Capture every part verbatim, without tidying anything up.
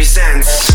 presents.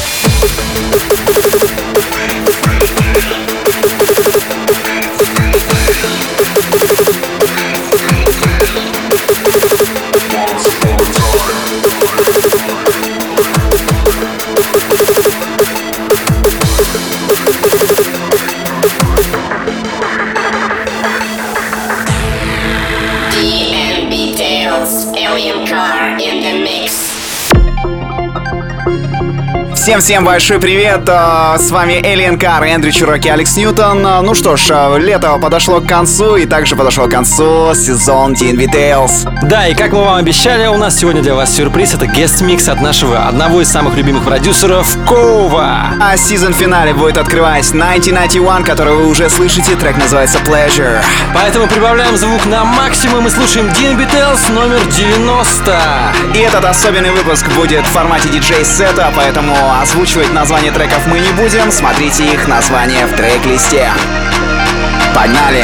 Всем-всем большой привет, с вами Alien Car, Эндрю Чироки, Алекс Ньютон. Ну что ж, лето подошло к концу, и также подошел к концу сезон ди энд би Tales. Да, и как мы вам обещали, у нас сегодня для вас сюрприз. Это гест-микс от нашего одного из самых любимых продюсеров Кова. А сезон-финале будет открывать тысяча девятьсот девяносто один, который вы уже слышите, трек называется Pleasure. Поэтому прибавляем звук на максимум и слушаем ди энд би Tales номер девяносто. И этот особенный выпуск будет в формате диджей-сета, поэтому озвучивать названия треков мы не будем, смотрите их названия в трек-листе. Погнали!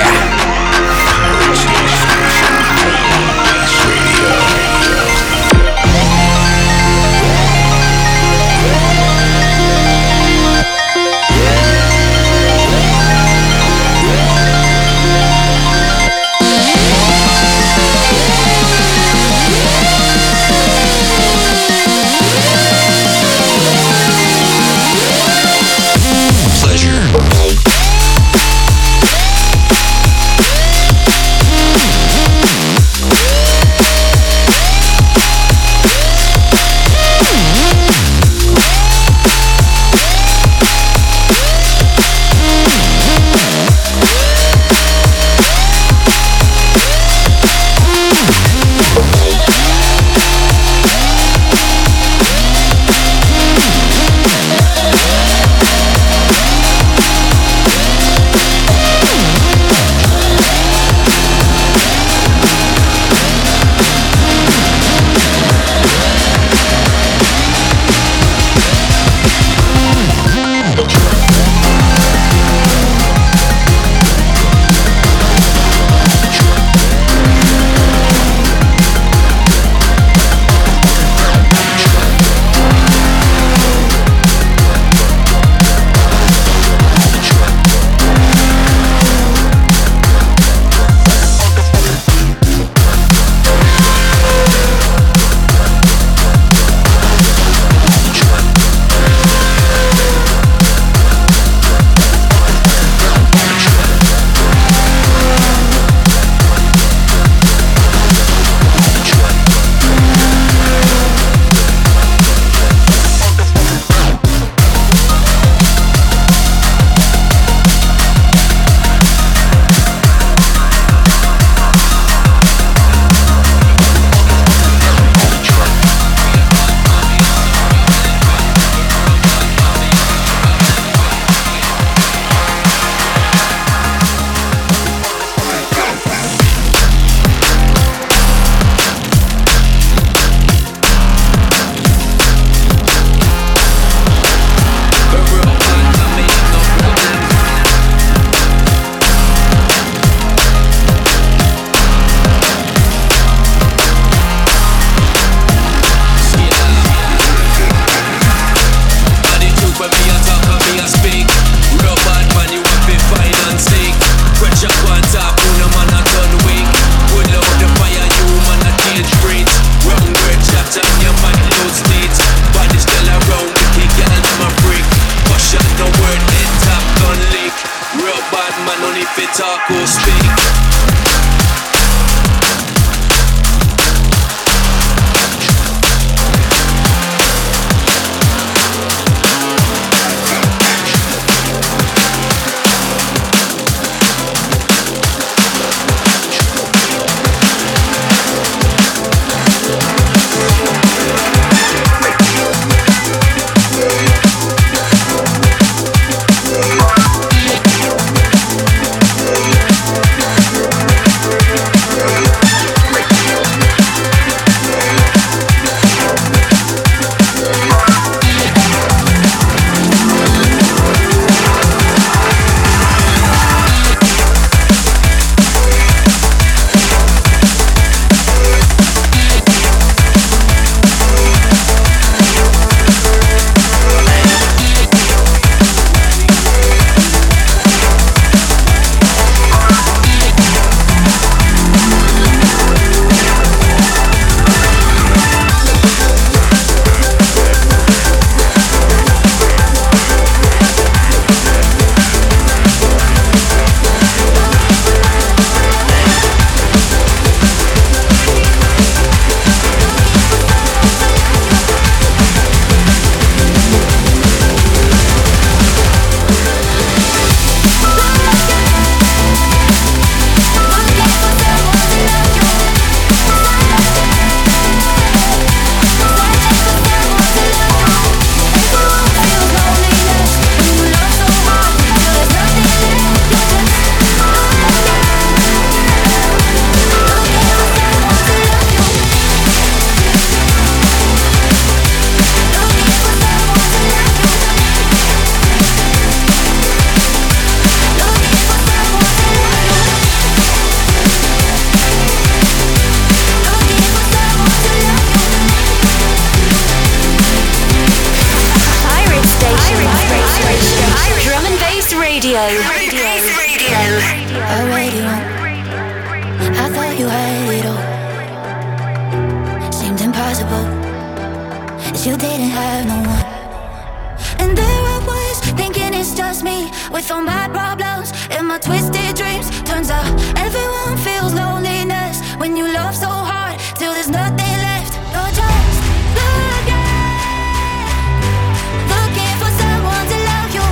radio. Radio. Radio. A radio. I thought you had it all. Seemed impossible. You didn't have no one. And there I was, thinking it's just me, with all my problems and my twisted dreams. Turns out everyone feels loneliness when you love so hard till there's nothing left. You're just looking, looking for someone to love you.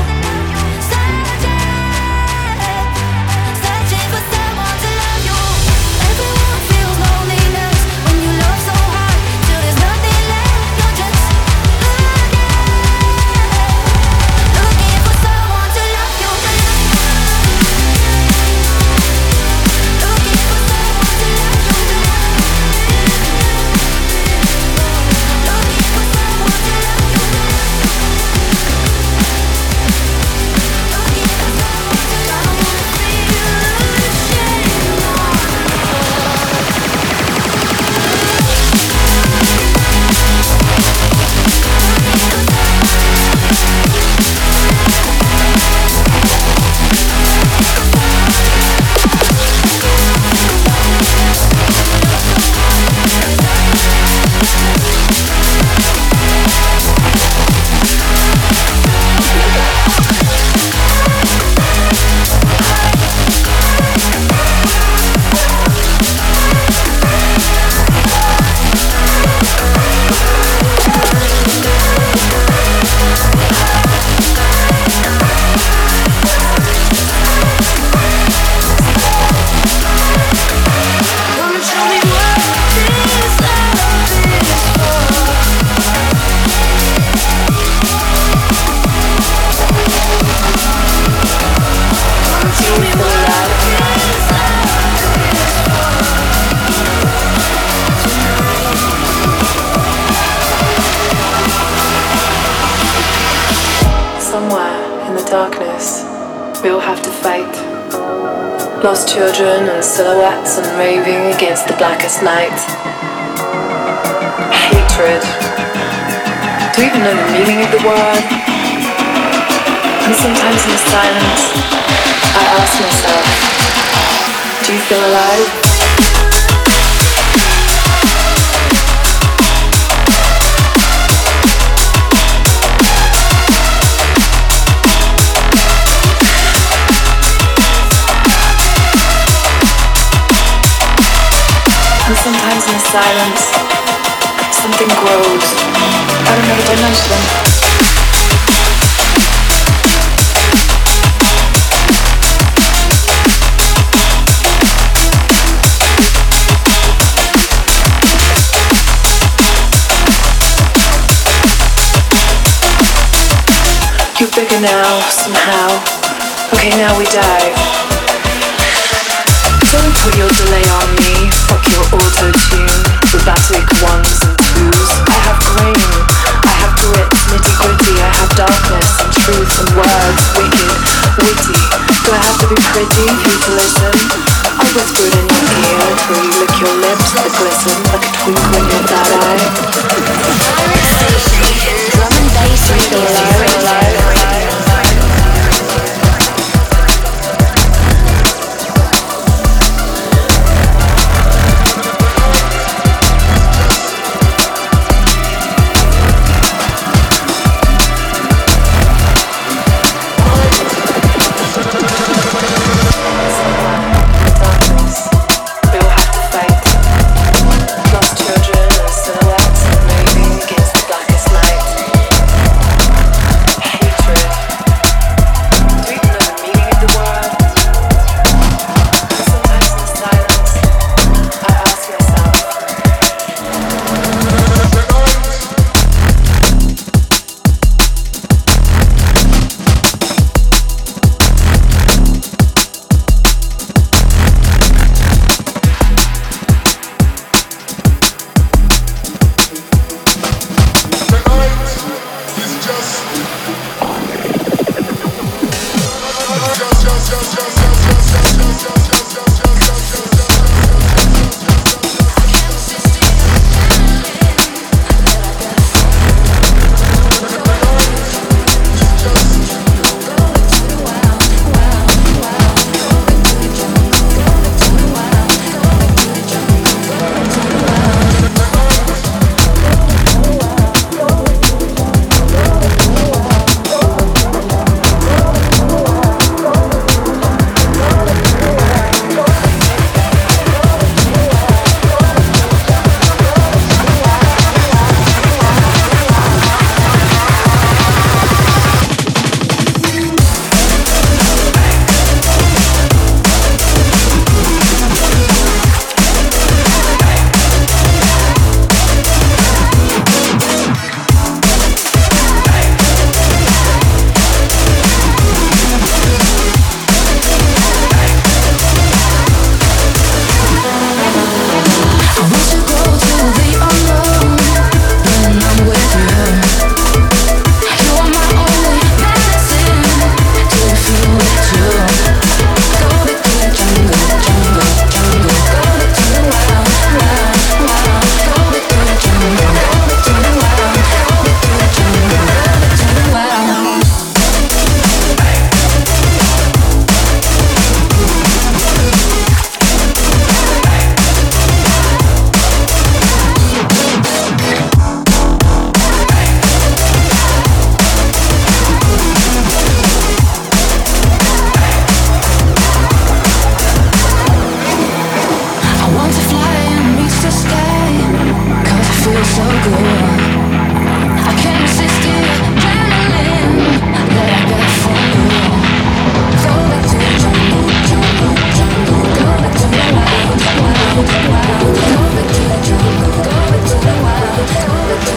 Searching, searching for someone to love you. Everyone feels loneliness when you love so hard till there's nothing left. You're just looking for someone to love you. Looking for someone to love you. Looking for someone to love you. Looking for someone to love you. Come and show me what this love is for. Come and show me what this love is for. Somewhere in the darkness, we all have to fight. Lost children and silhouettes and raving against the blackest night. Hatred. Do you even know the meaning of the word? And sometimes in the silence, I ask myself, do you feel alive? And sometimes in the silence, something grows out of another dimension. You're bigger now, somehow. Okay, now we dive. Don't put your delay on me. Fuck your auto-tune, robotic ones and twos. I have grain, I have grit, nitty-gritty. I have darkness and truth and words, wicked, witty. Do I have to be pretty for you to listen? I whisper it in your ear till you lick your lips that glisten like a twinkle in your third eye. Drum and bass radio. Alive, alive, alive. Darkness, we all have to fight. Lost children and silhouettes.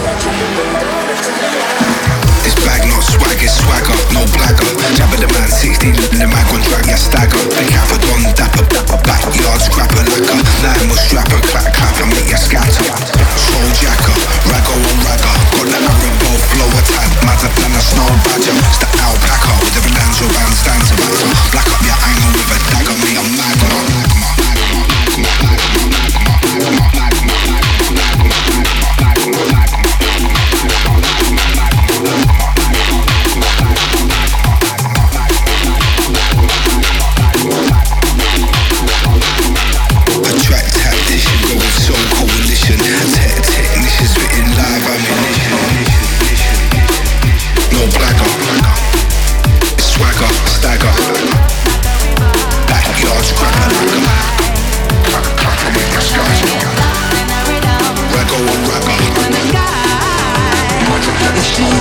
This bag not swag, it's swagger, no blagger. Jabba the man sixteen, in the mag on drag, yeah stagger. The kappa don dapper, dapper, backyard scrapper lacquer. Nine was strapper, clap clap, and make ya scatter. Soul jacker, raggo on ragger. Got the Arabo flow attack, madder than a snow badger. It's the alpaca with the Belanzo bandstand to batter. Black up your angle with a dagger, me a magma. Attract tactician, go with soul coalition. Tech technician spitting live ammunition. No blagger, it's swagger, stagger. Backyard scrapper lacquer. Clap clap and make your skies raggo on ragger. Magic like a soul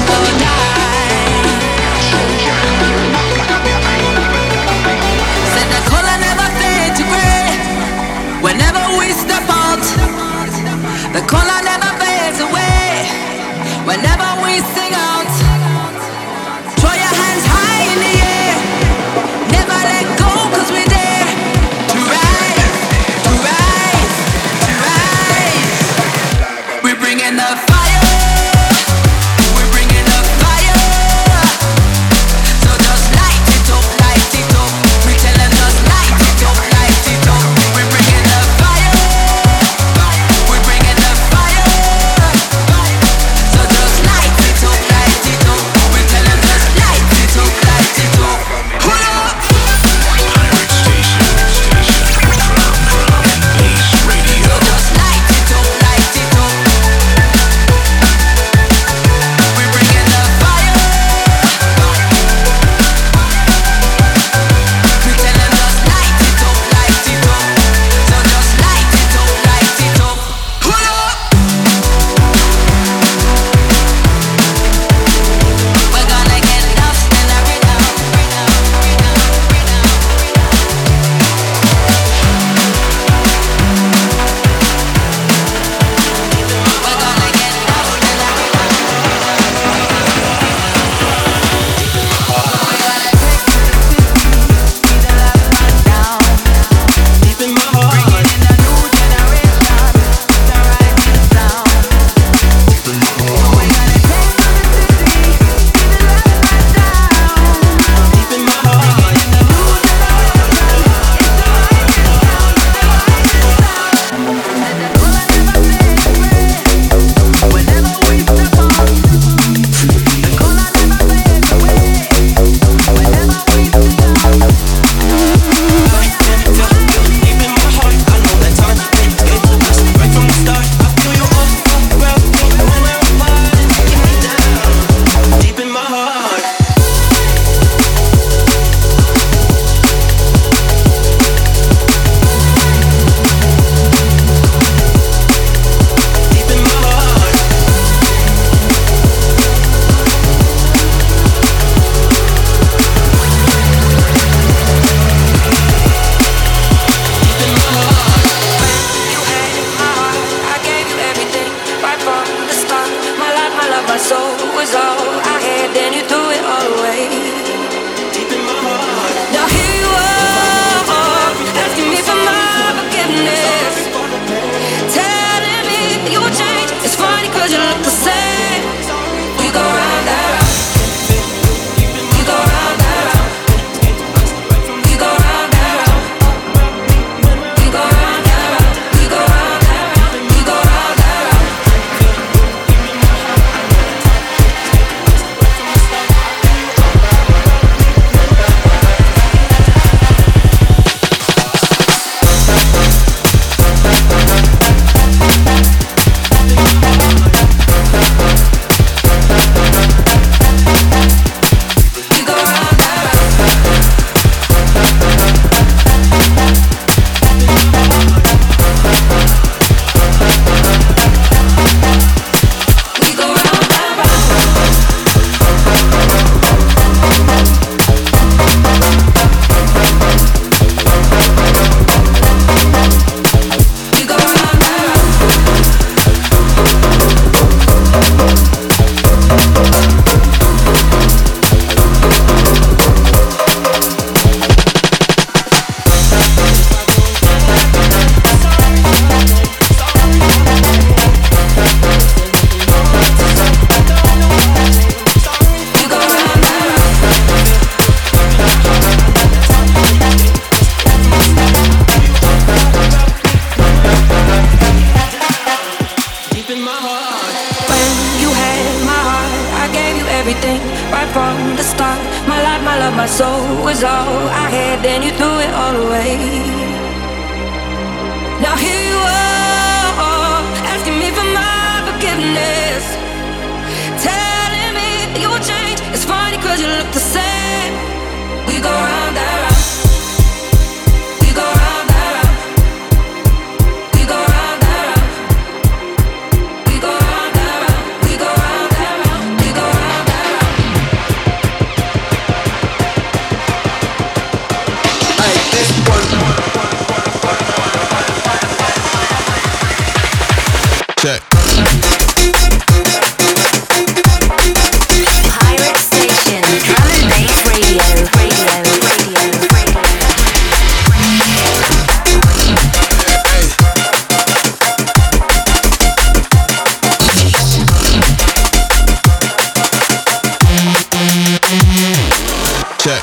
Said the color never fades to gray. Whenever we step out, the color never fades away. Whenever we sing out, throw your hands high in the air. Never let go, cause we're there to rise, to rise, to rise. We're bringing the fire. We're bringing the fire. So just light it up, light it up. We tell them just light it up, light it up. We're bringing the fire. We're bringing the fire. So just light it up, light it up. We tell them just light it up, light it up. Pull up. Pirate station, station, drum, drum, bass radio. Just light it up, light it up. We're bringing the fire. We tell them just light it up, light it up. So just light it up, light it up. Pull up. We're gonna get lost in the rhythm. We're gonna get lost in the rhythm. Deep in my heart, bringing in a new generation, the rising sound. Deep in my heart, we're gonna take to the city, be the last man down. Deep in my heart, bringing in a new generation, it's the rising sound, the rising sound. And the color never fades away. Whenever we step out, the color never fades away. Whenever we sing out. Deep in my heart, I know that time ain't good. Just right from the start, I feel you all around me. When we're apart, get me down. Deep in my heart. Deep in my heart. Deep in my heart. You had my heart, I gave you everything right from the start. My life, my love, my soul was all I had. Then you threw it all away. Deep in my heart. Now here you are, asking me for my forgiveness, telling me you would change. It's funny 'cause you look the same. We go round and round. We go round and round. We go round and round. We go round and round. We go round and round. We go round and round. everything right from the start. My life, my love, my soul was all I had. Then you threw it all away. Now here you are, asking me for my forgiveness, telling me you will change. It's funny cause you look the same. We go round and round. We go round and round. We go round and round. We go round and round. We go round and round. We go round and round. Hey, this one. Check. Pirate Station, drum and bass radio, radio, radio, radio. Check.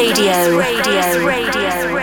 Radio. Radio. Radio.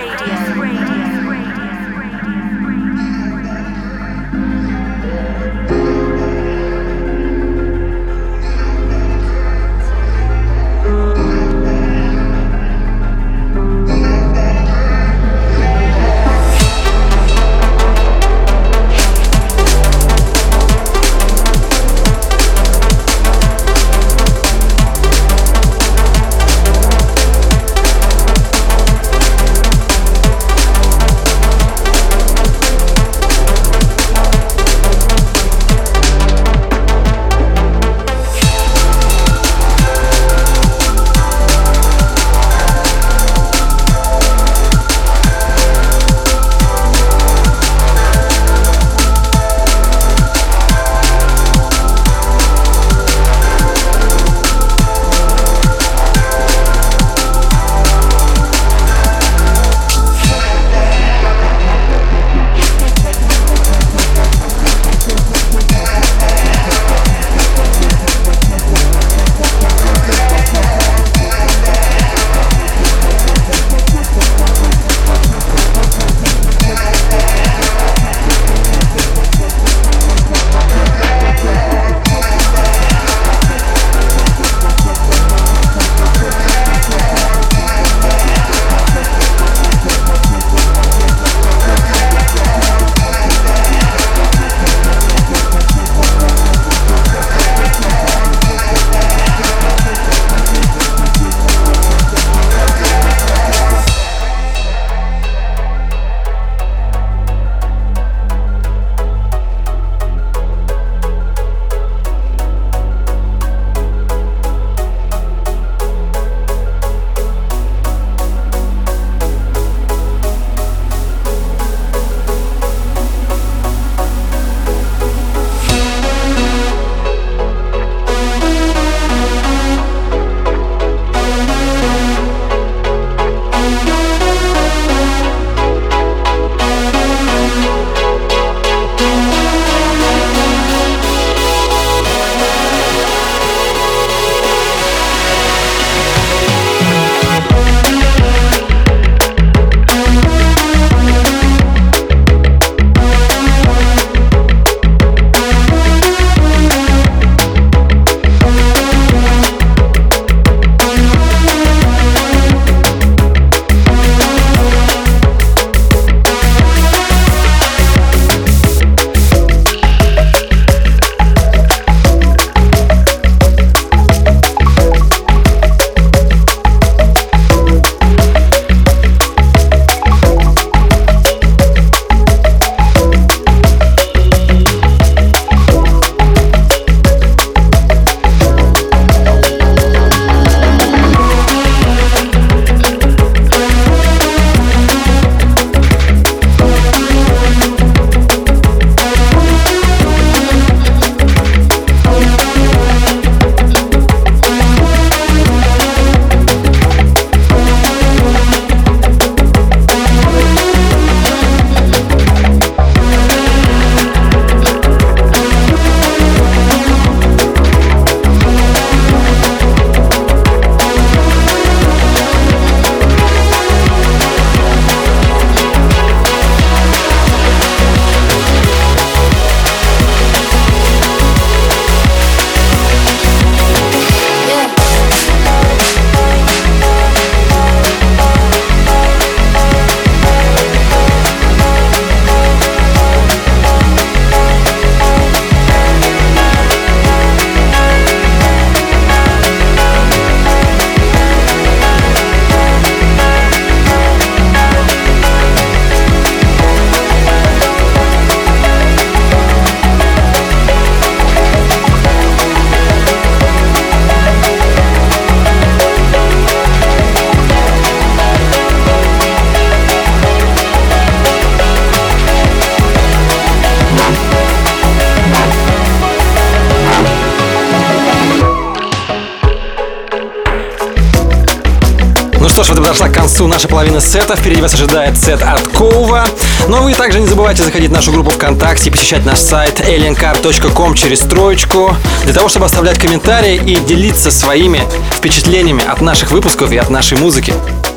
что ж, вот и подошла к концу наша половина сета. Впереди вас ожидает сет от Кова. Но вы также не забывайте заходить в нашу группу ВКонтакте и посещать наш сайт alien car точка com через троечку, для того, чтобы оставлять комментарии и делиться своими впечатлениями от наших выпусков и от нашей музыки.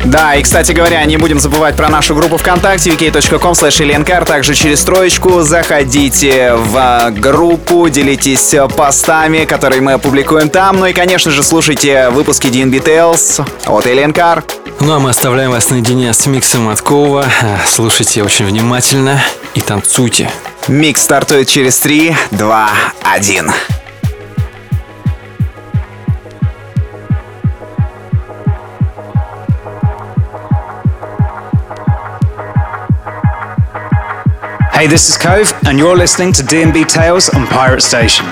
Да, и, кстати говоря, не будем забывать про нашу группу ВКонтакте ви кей точка ком слэш эленкар. Также через троечку заходите в группу, делитесь постами, которые мы опубликуем там. Ну и, конечно же, слушайте выпуски ди энд би Tales от Эленкар. Ну а мы оставляем вас наедине с миксом от Кова. Слушайте очень внимательно и танцуйте. Микс стартует через три, два, один. Hey, this is Cove, and you're listening to ди энд би Tales on Pirate Station.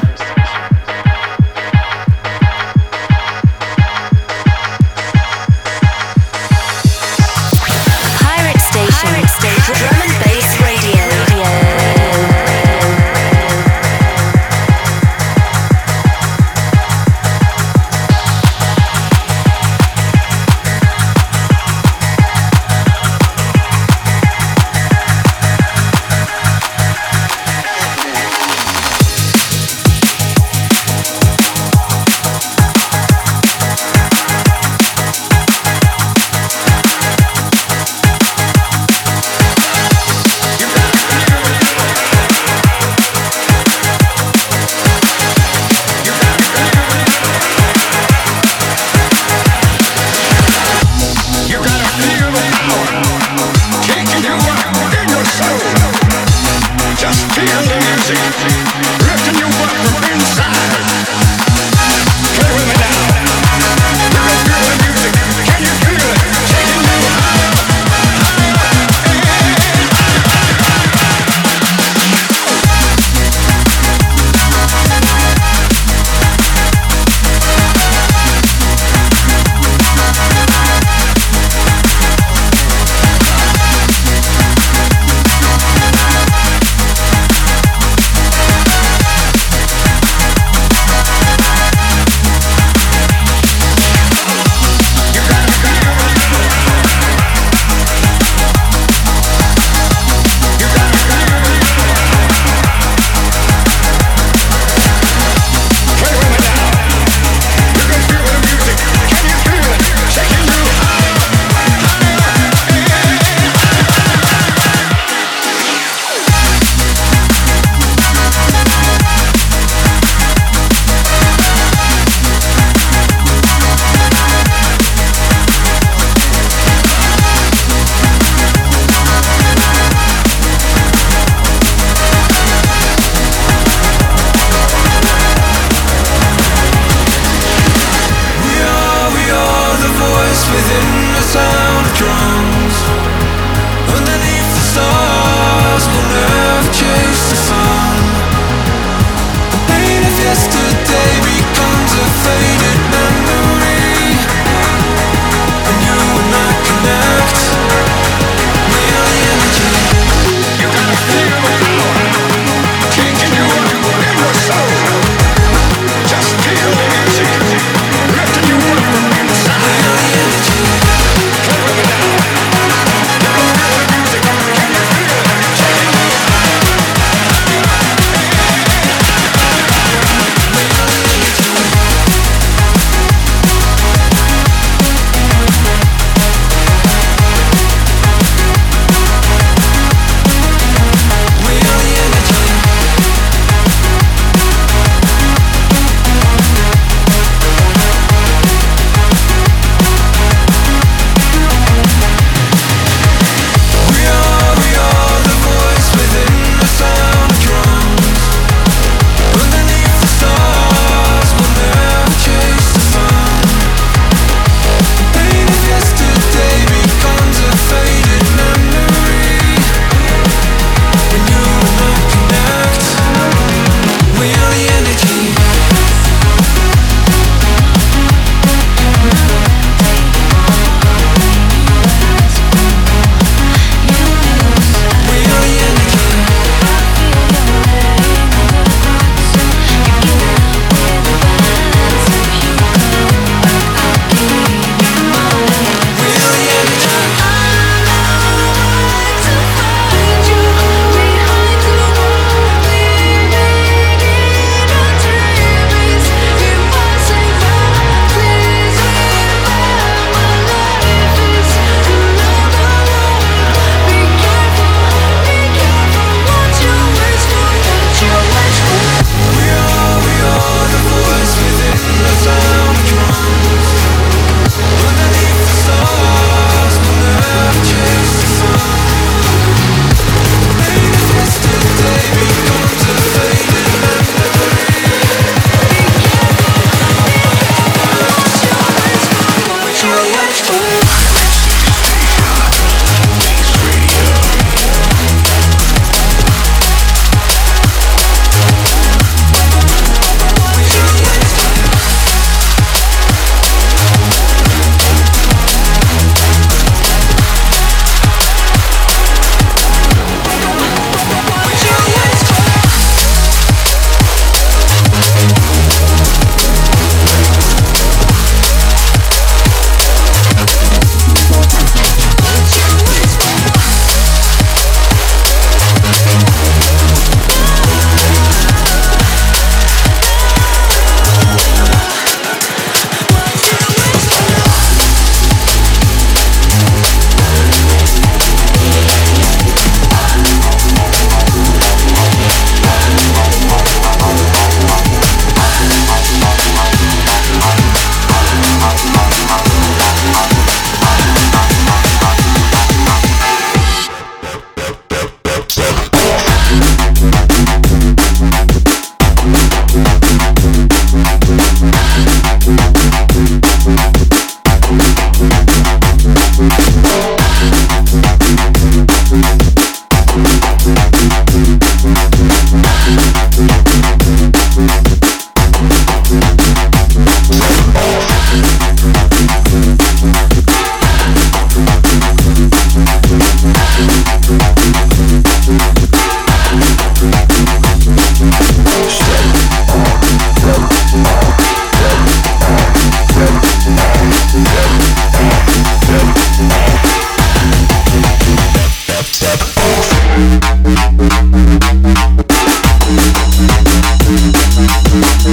Pirate Station. Pirate Station. Drum and bass radio.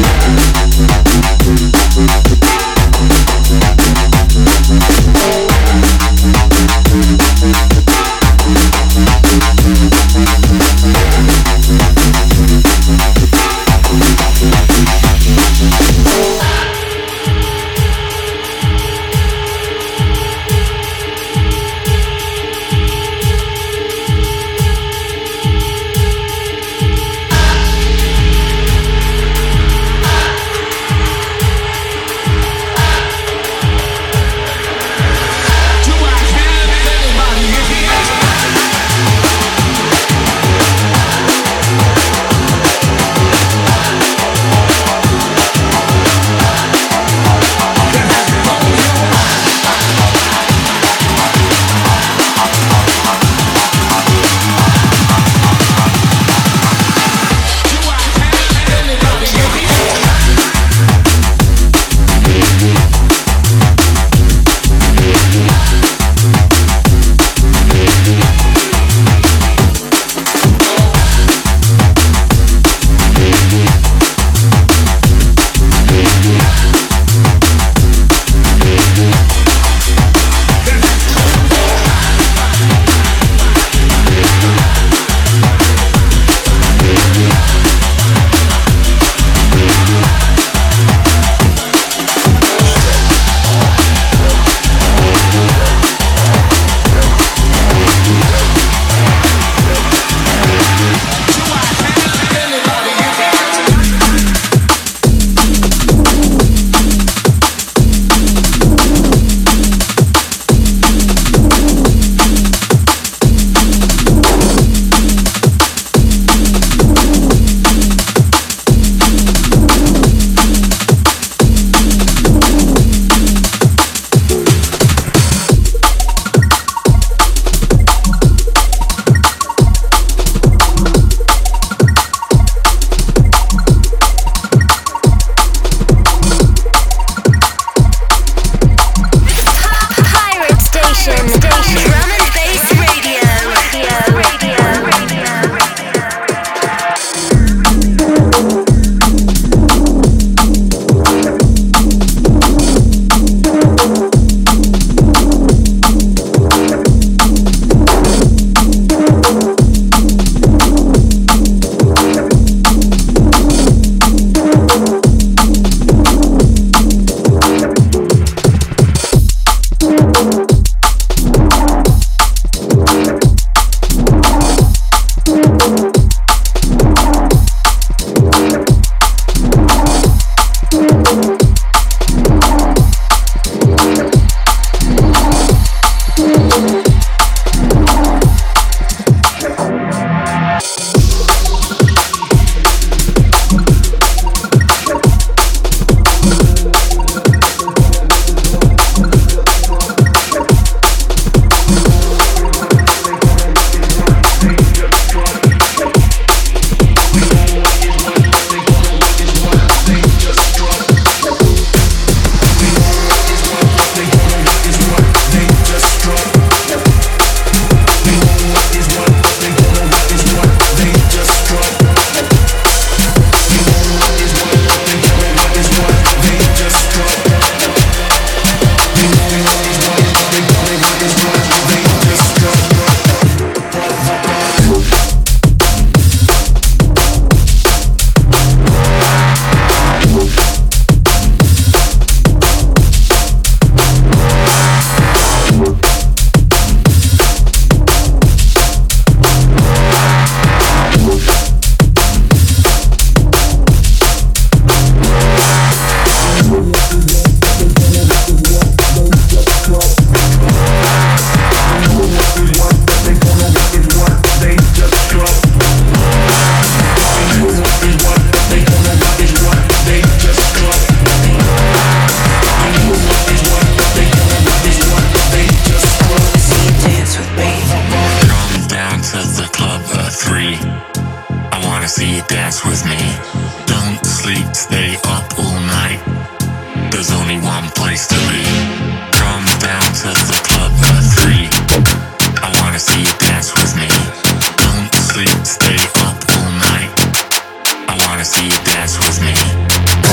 wanna see you dance with me.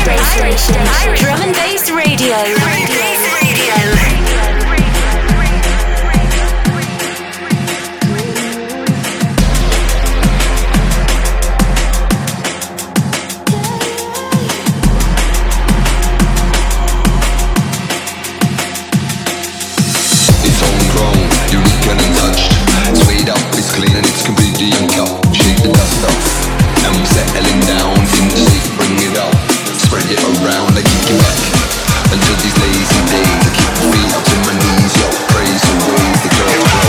Drum and Bass Radio. It's homegrown, unique and untouched. It's weighed up, it's clean and it's completely uncut. Shake the dust off, and we're settling down. In the safe, bring it up, spread it around, I kick it back until these lazy days. I keep my feet up to my knees, yo, praise the ways the girls grow.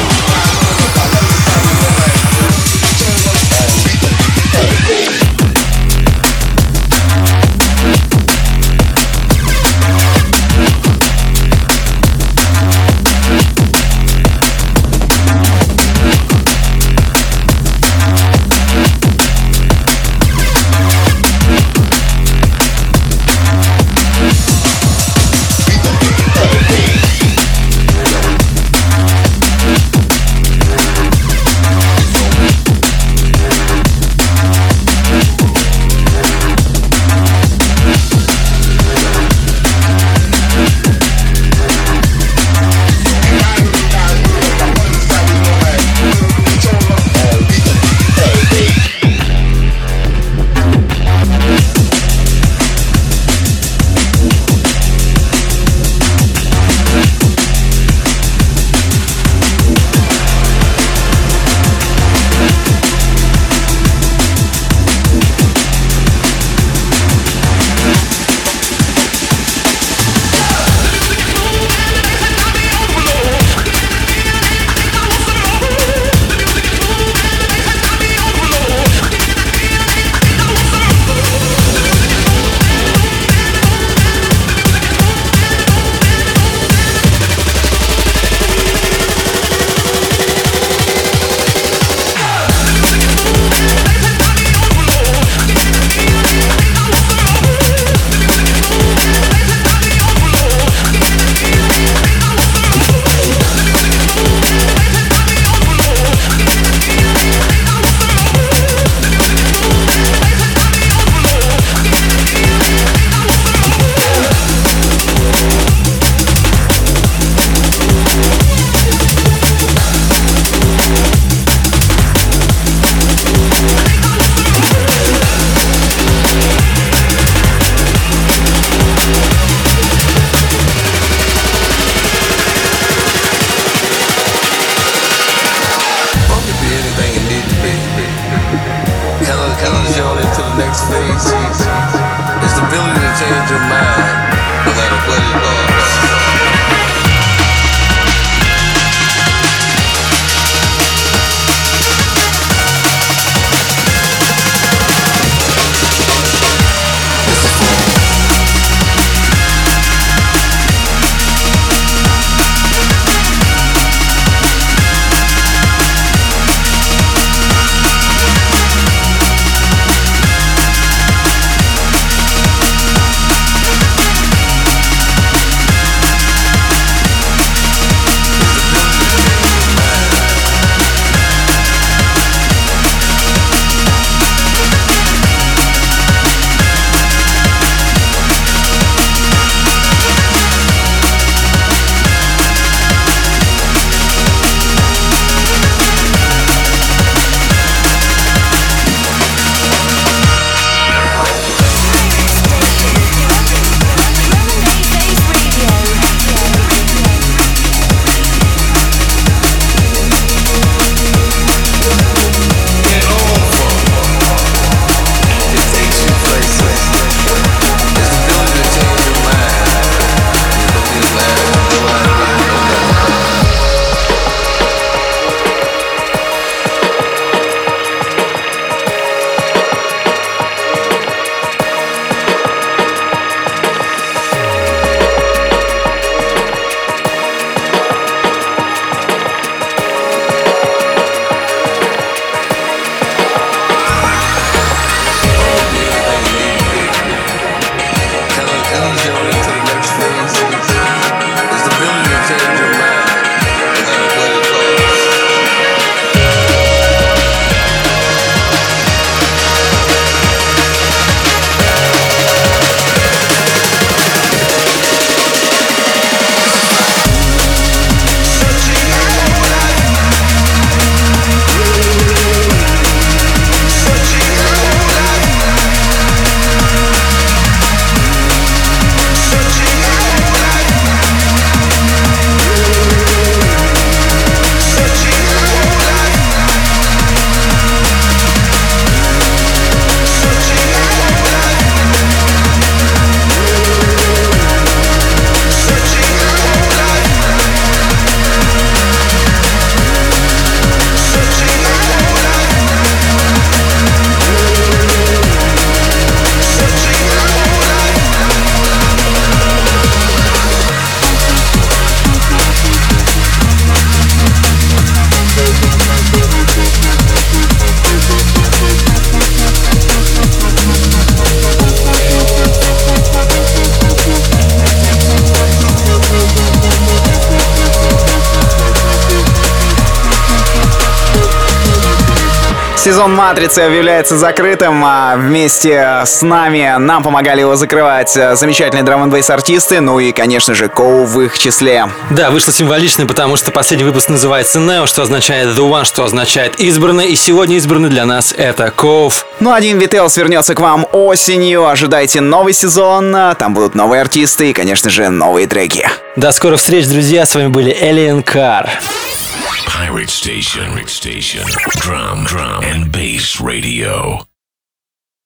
Сезон «Матрицы» объявляется закрытым, а вместе с нами нам помогали его закрывать замечательные драм-н-бейс артисты, ну и, конечно же, Коув в их числе. Да, вышло символично, потому что последний выпуск называется Neo, что означает The One, что означает избранный, и сегодня избранный для нас это Коув. Ну а ди эм ви Tales вернется к вам осенью, ожидайте новый сезон, там будут новые артисты и, конечно же, новые треки. До скорых встреч, друзья, с вами были Alien Car. Pirate Station, Pirate Station, Drum, Drum and Bass Radio.